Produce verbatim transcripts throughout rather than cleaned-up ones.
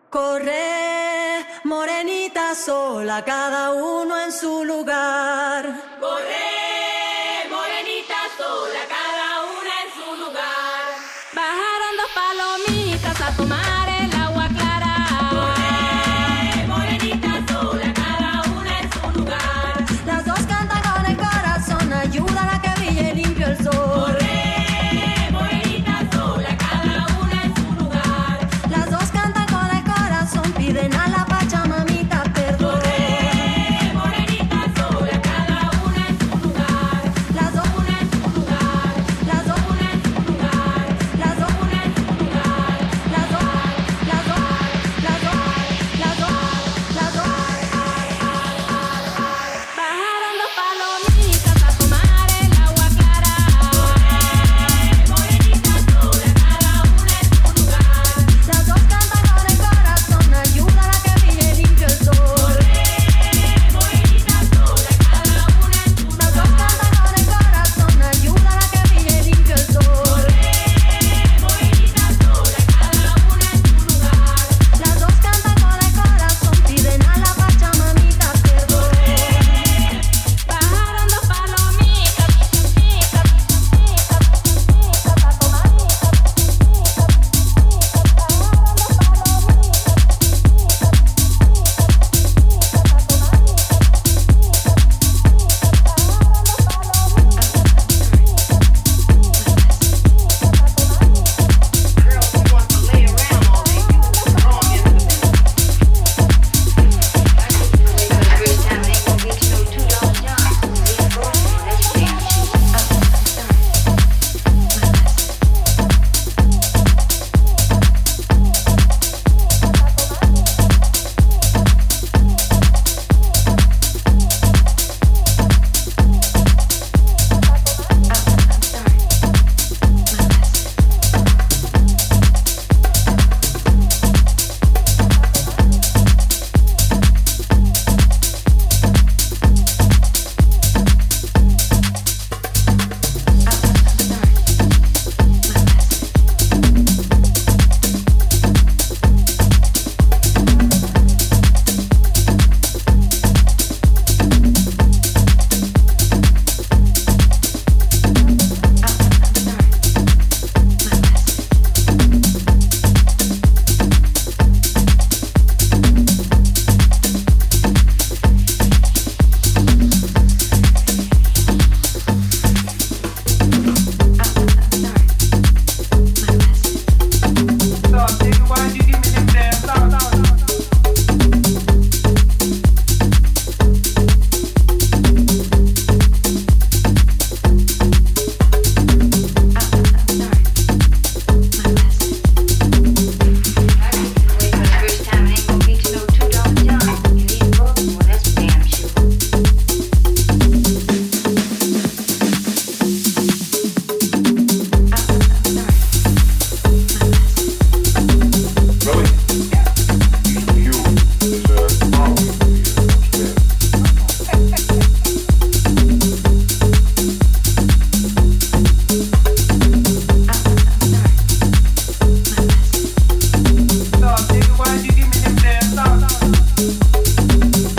Corre, morenita sola, cada uno en su lugar. Corre, morenita sola, cada una en su lugar. Bajaron dos palomitas a tomar el agua clara. Corre, morenita sola, cada una en su lugar. Las dos cantan con el corazón, ayudan a que brille limpio el sol. Corre, morenita sola, cada una en su lugar. Las dos cantan con el corazón, piden a la Pachamamita perdón. Corre, morenita sola, cada una en su lugar. Las dos Una en su lugar, las dos una en su lugar, las dos una en su lugar. las dos las dos las dos las dos las dos Bajaron dos palomitas a tomar el agua clara. Morenita sola, cada una en su lugar. Las dos cantan con el corazón, ayudan a que brille limpio el sol. Morenita sola, cada una en su Las dos cantan con el corazón, ayudan a que brille limpio el sol. Morenita sola, cada una en su lugar. Las dos cantan con el corazón, piden a la Pachamamita perdón. Bajaron dos palomitas, A tomar Girls who want to lay around all day, you throw 'em into the middle. First time I ain't gonna get you no two dollar job. Leave both of them, that's damn sure. Dog, nigga, why'd you give me them damn dollars? First time I ain't gonna get you no two dollar job. You leave both of them, that's damn sure. Really? You is a problem here. Dog, nigga, why'd you give me them damn dollars?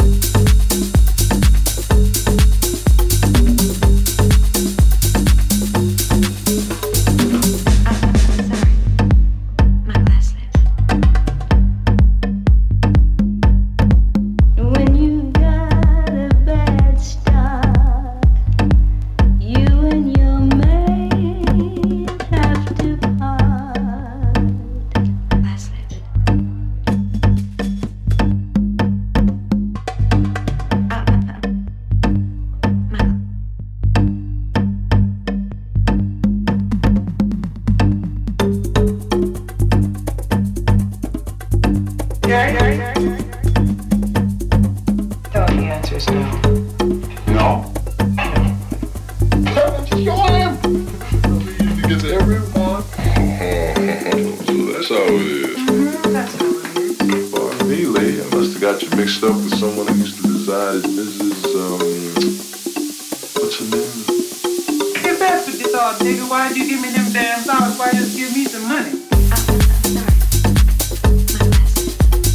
When you got a bad start, you and your mate have to part. Yeah, yeah, yeah. Dog, the answer is no. No. Sure am. You get to everyone. So that's how it is. That's how it is. Pardon me, lady. I must have got you mixed up with someone who used to reside as Missus Um, what's her name? Get back with this dog, nigga. Why'd you give me them damn dollars? Why just give me some money?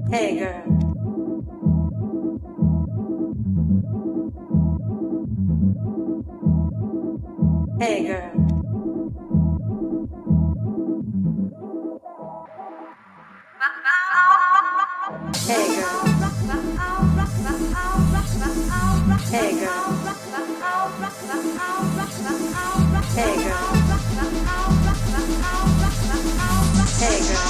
Hey girl. Hey girl. Hey girl. Hey girl. Hey girl. Hey girl.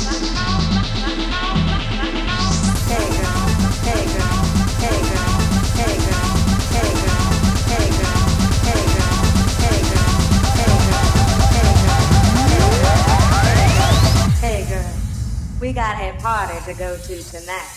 We got a party to go to tonight.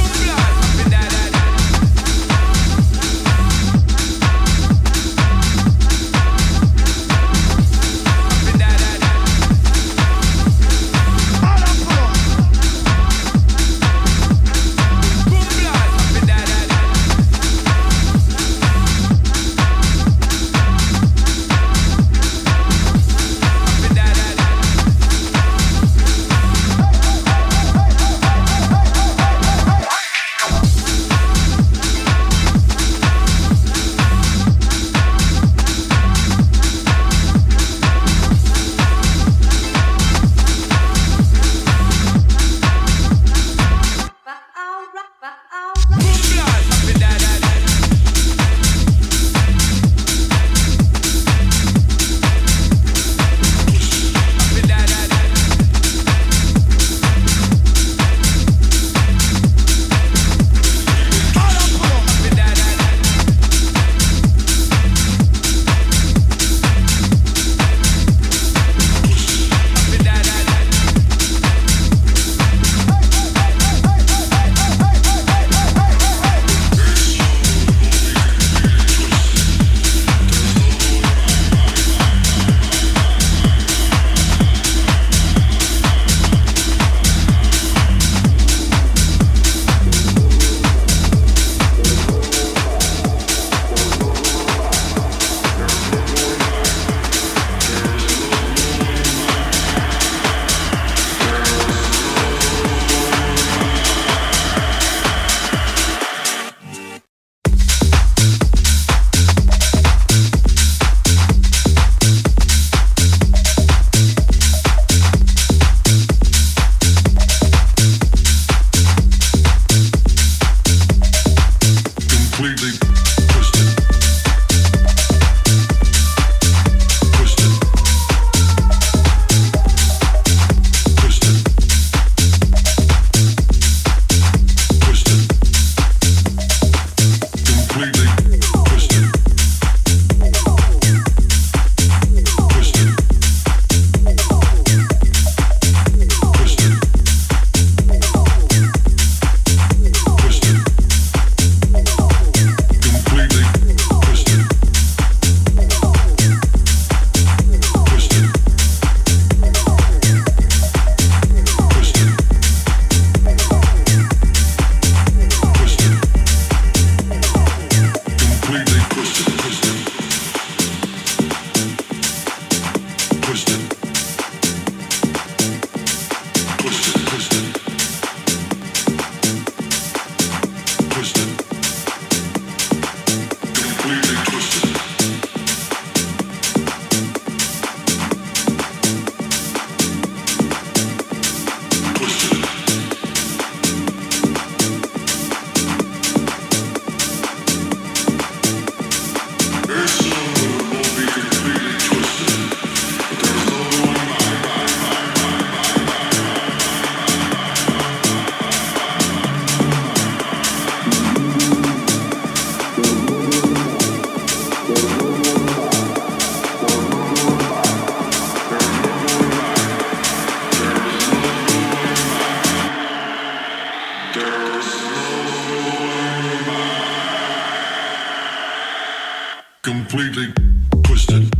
Completely twisted.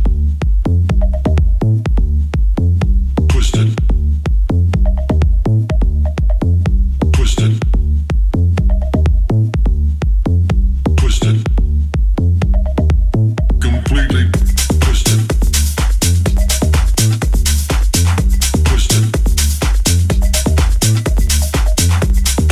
Twisted. Twisted. Twisted. Completely twisted. Twisted.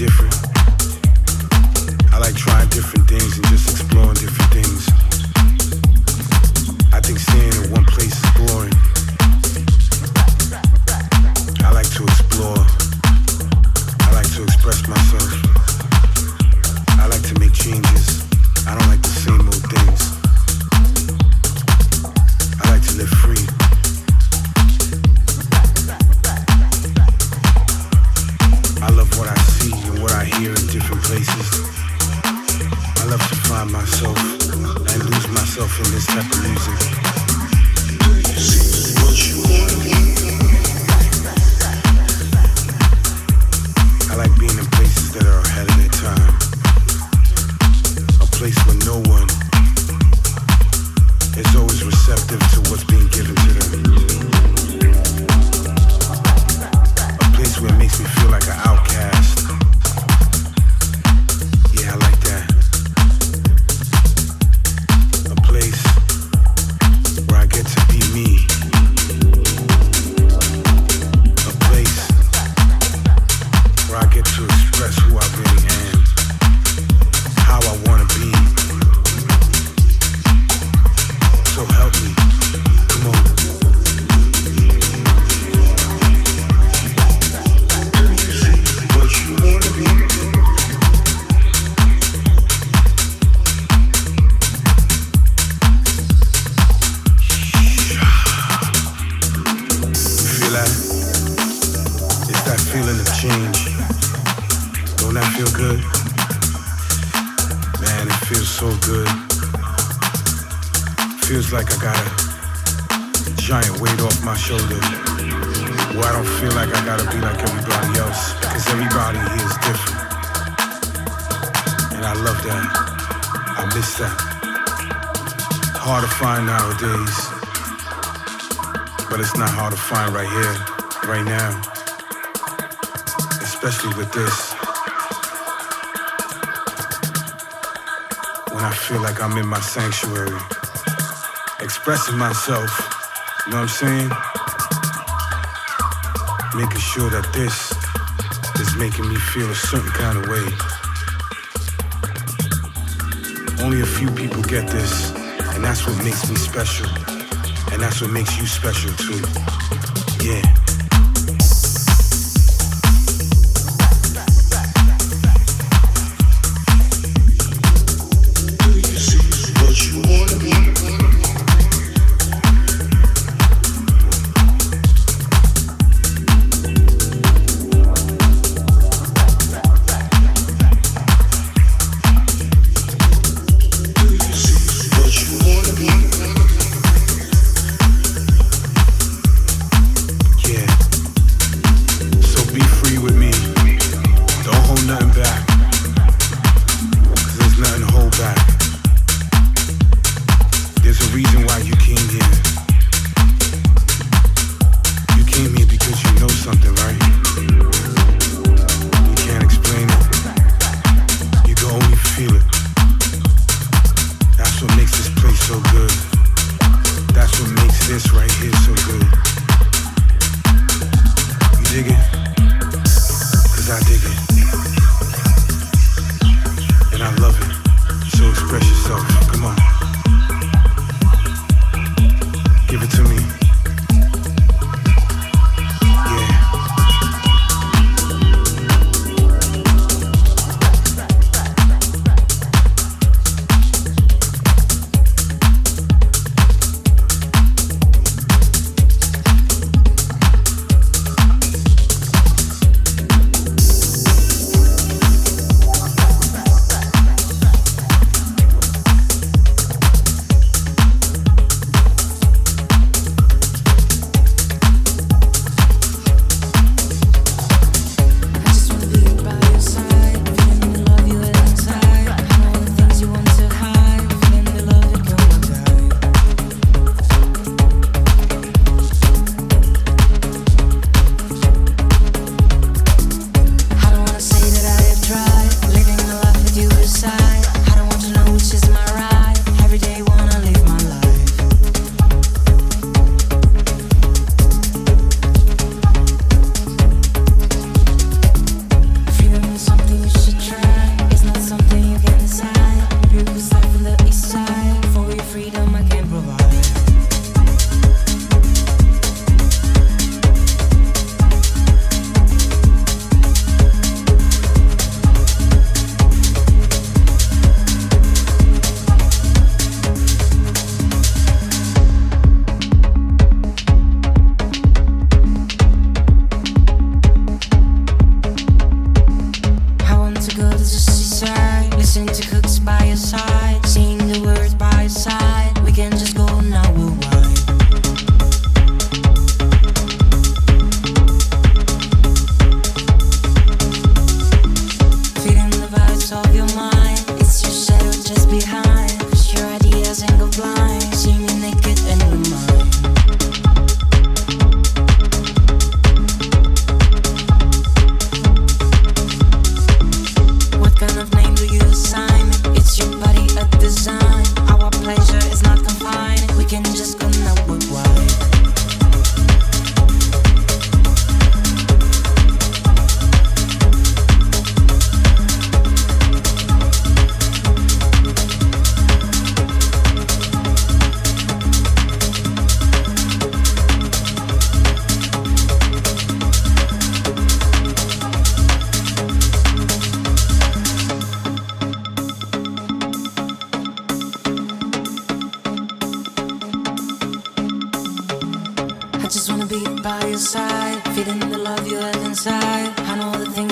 different. I like trying different things and just exploring different things. I think staying in one place is boring. I like to explore. I like to express myself. I like to make changes. I don't like the same old things. I like to live free. I love what I see and what I hear in different places. I love to find myself and lose myself in this type of music. I like being in places that are ahead of their time. A place where no one is always receptive to what's being given to them. A place where it makes me feel like an outcast. Yeah, I like that. A place where I get to be me. A place where I get to express who I really am, how I want to be. So help me. Come on. What you want to be? You feel that? It's that feeling of change. Don't that feel good? Man, it feels so good. Feels like I got a giant weight off my shoulder. Where I don't feel like I gotta be like everybody else, because everybody here is different. And I love that. I miss that. Hard to find nowadays, but it's not hard to find right here, right now. Especially with this. When I feel like I'm in my sanctuary, expressing myself, you know what I'm saying? Making sure that this is making me feel a certain kind of way. Only a few people get this, and that's what makes me special. And that's what makes you special too. Yeah.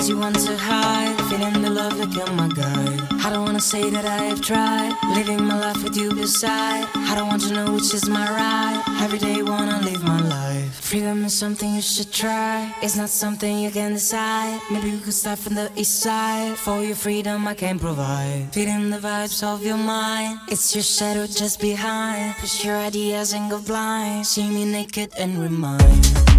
things you want to hide, feeling the love like you're my guide. I don't wanna say that I have tried, living my life with you beside. I don't want to know which is my right, every day wanna live my life. Freedom is something you should try, it's not something you can decide. Maybe we could start from the east side, for your freedom I can provide. Feeling the vibes of your mind, it's your shadow just behind. Push your ideas and go blind, see me naked and remind.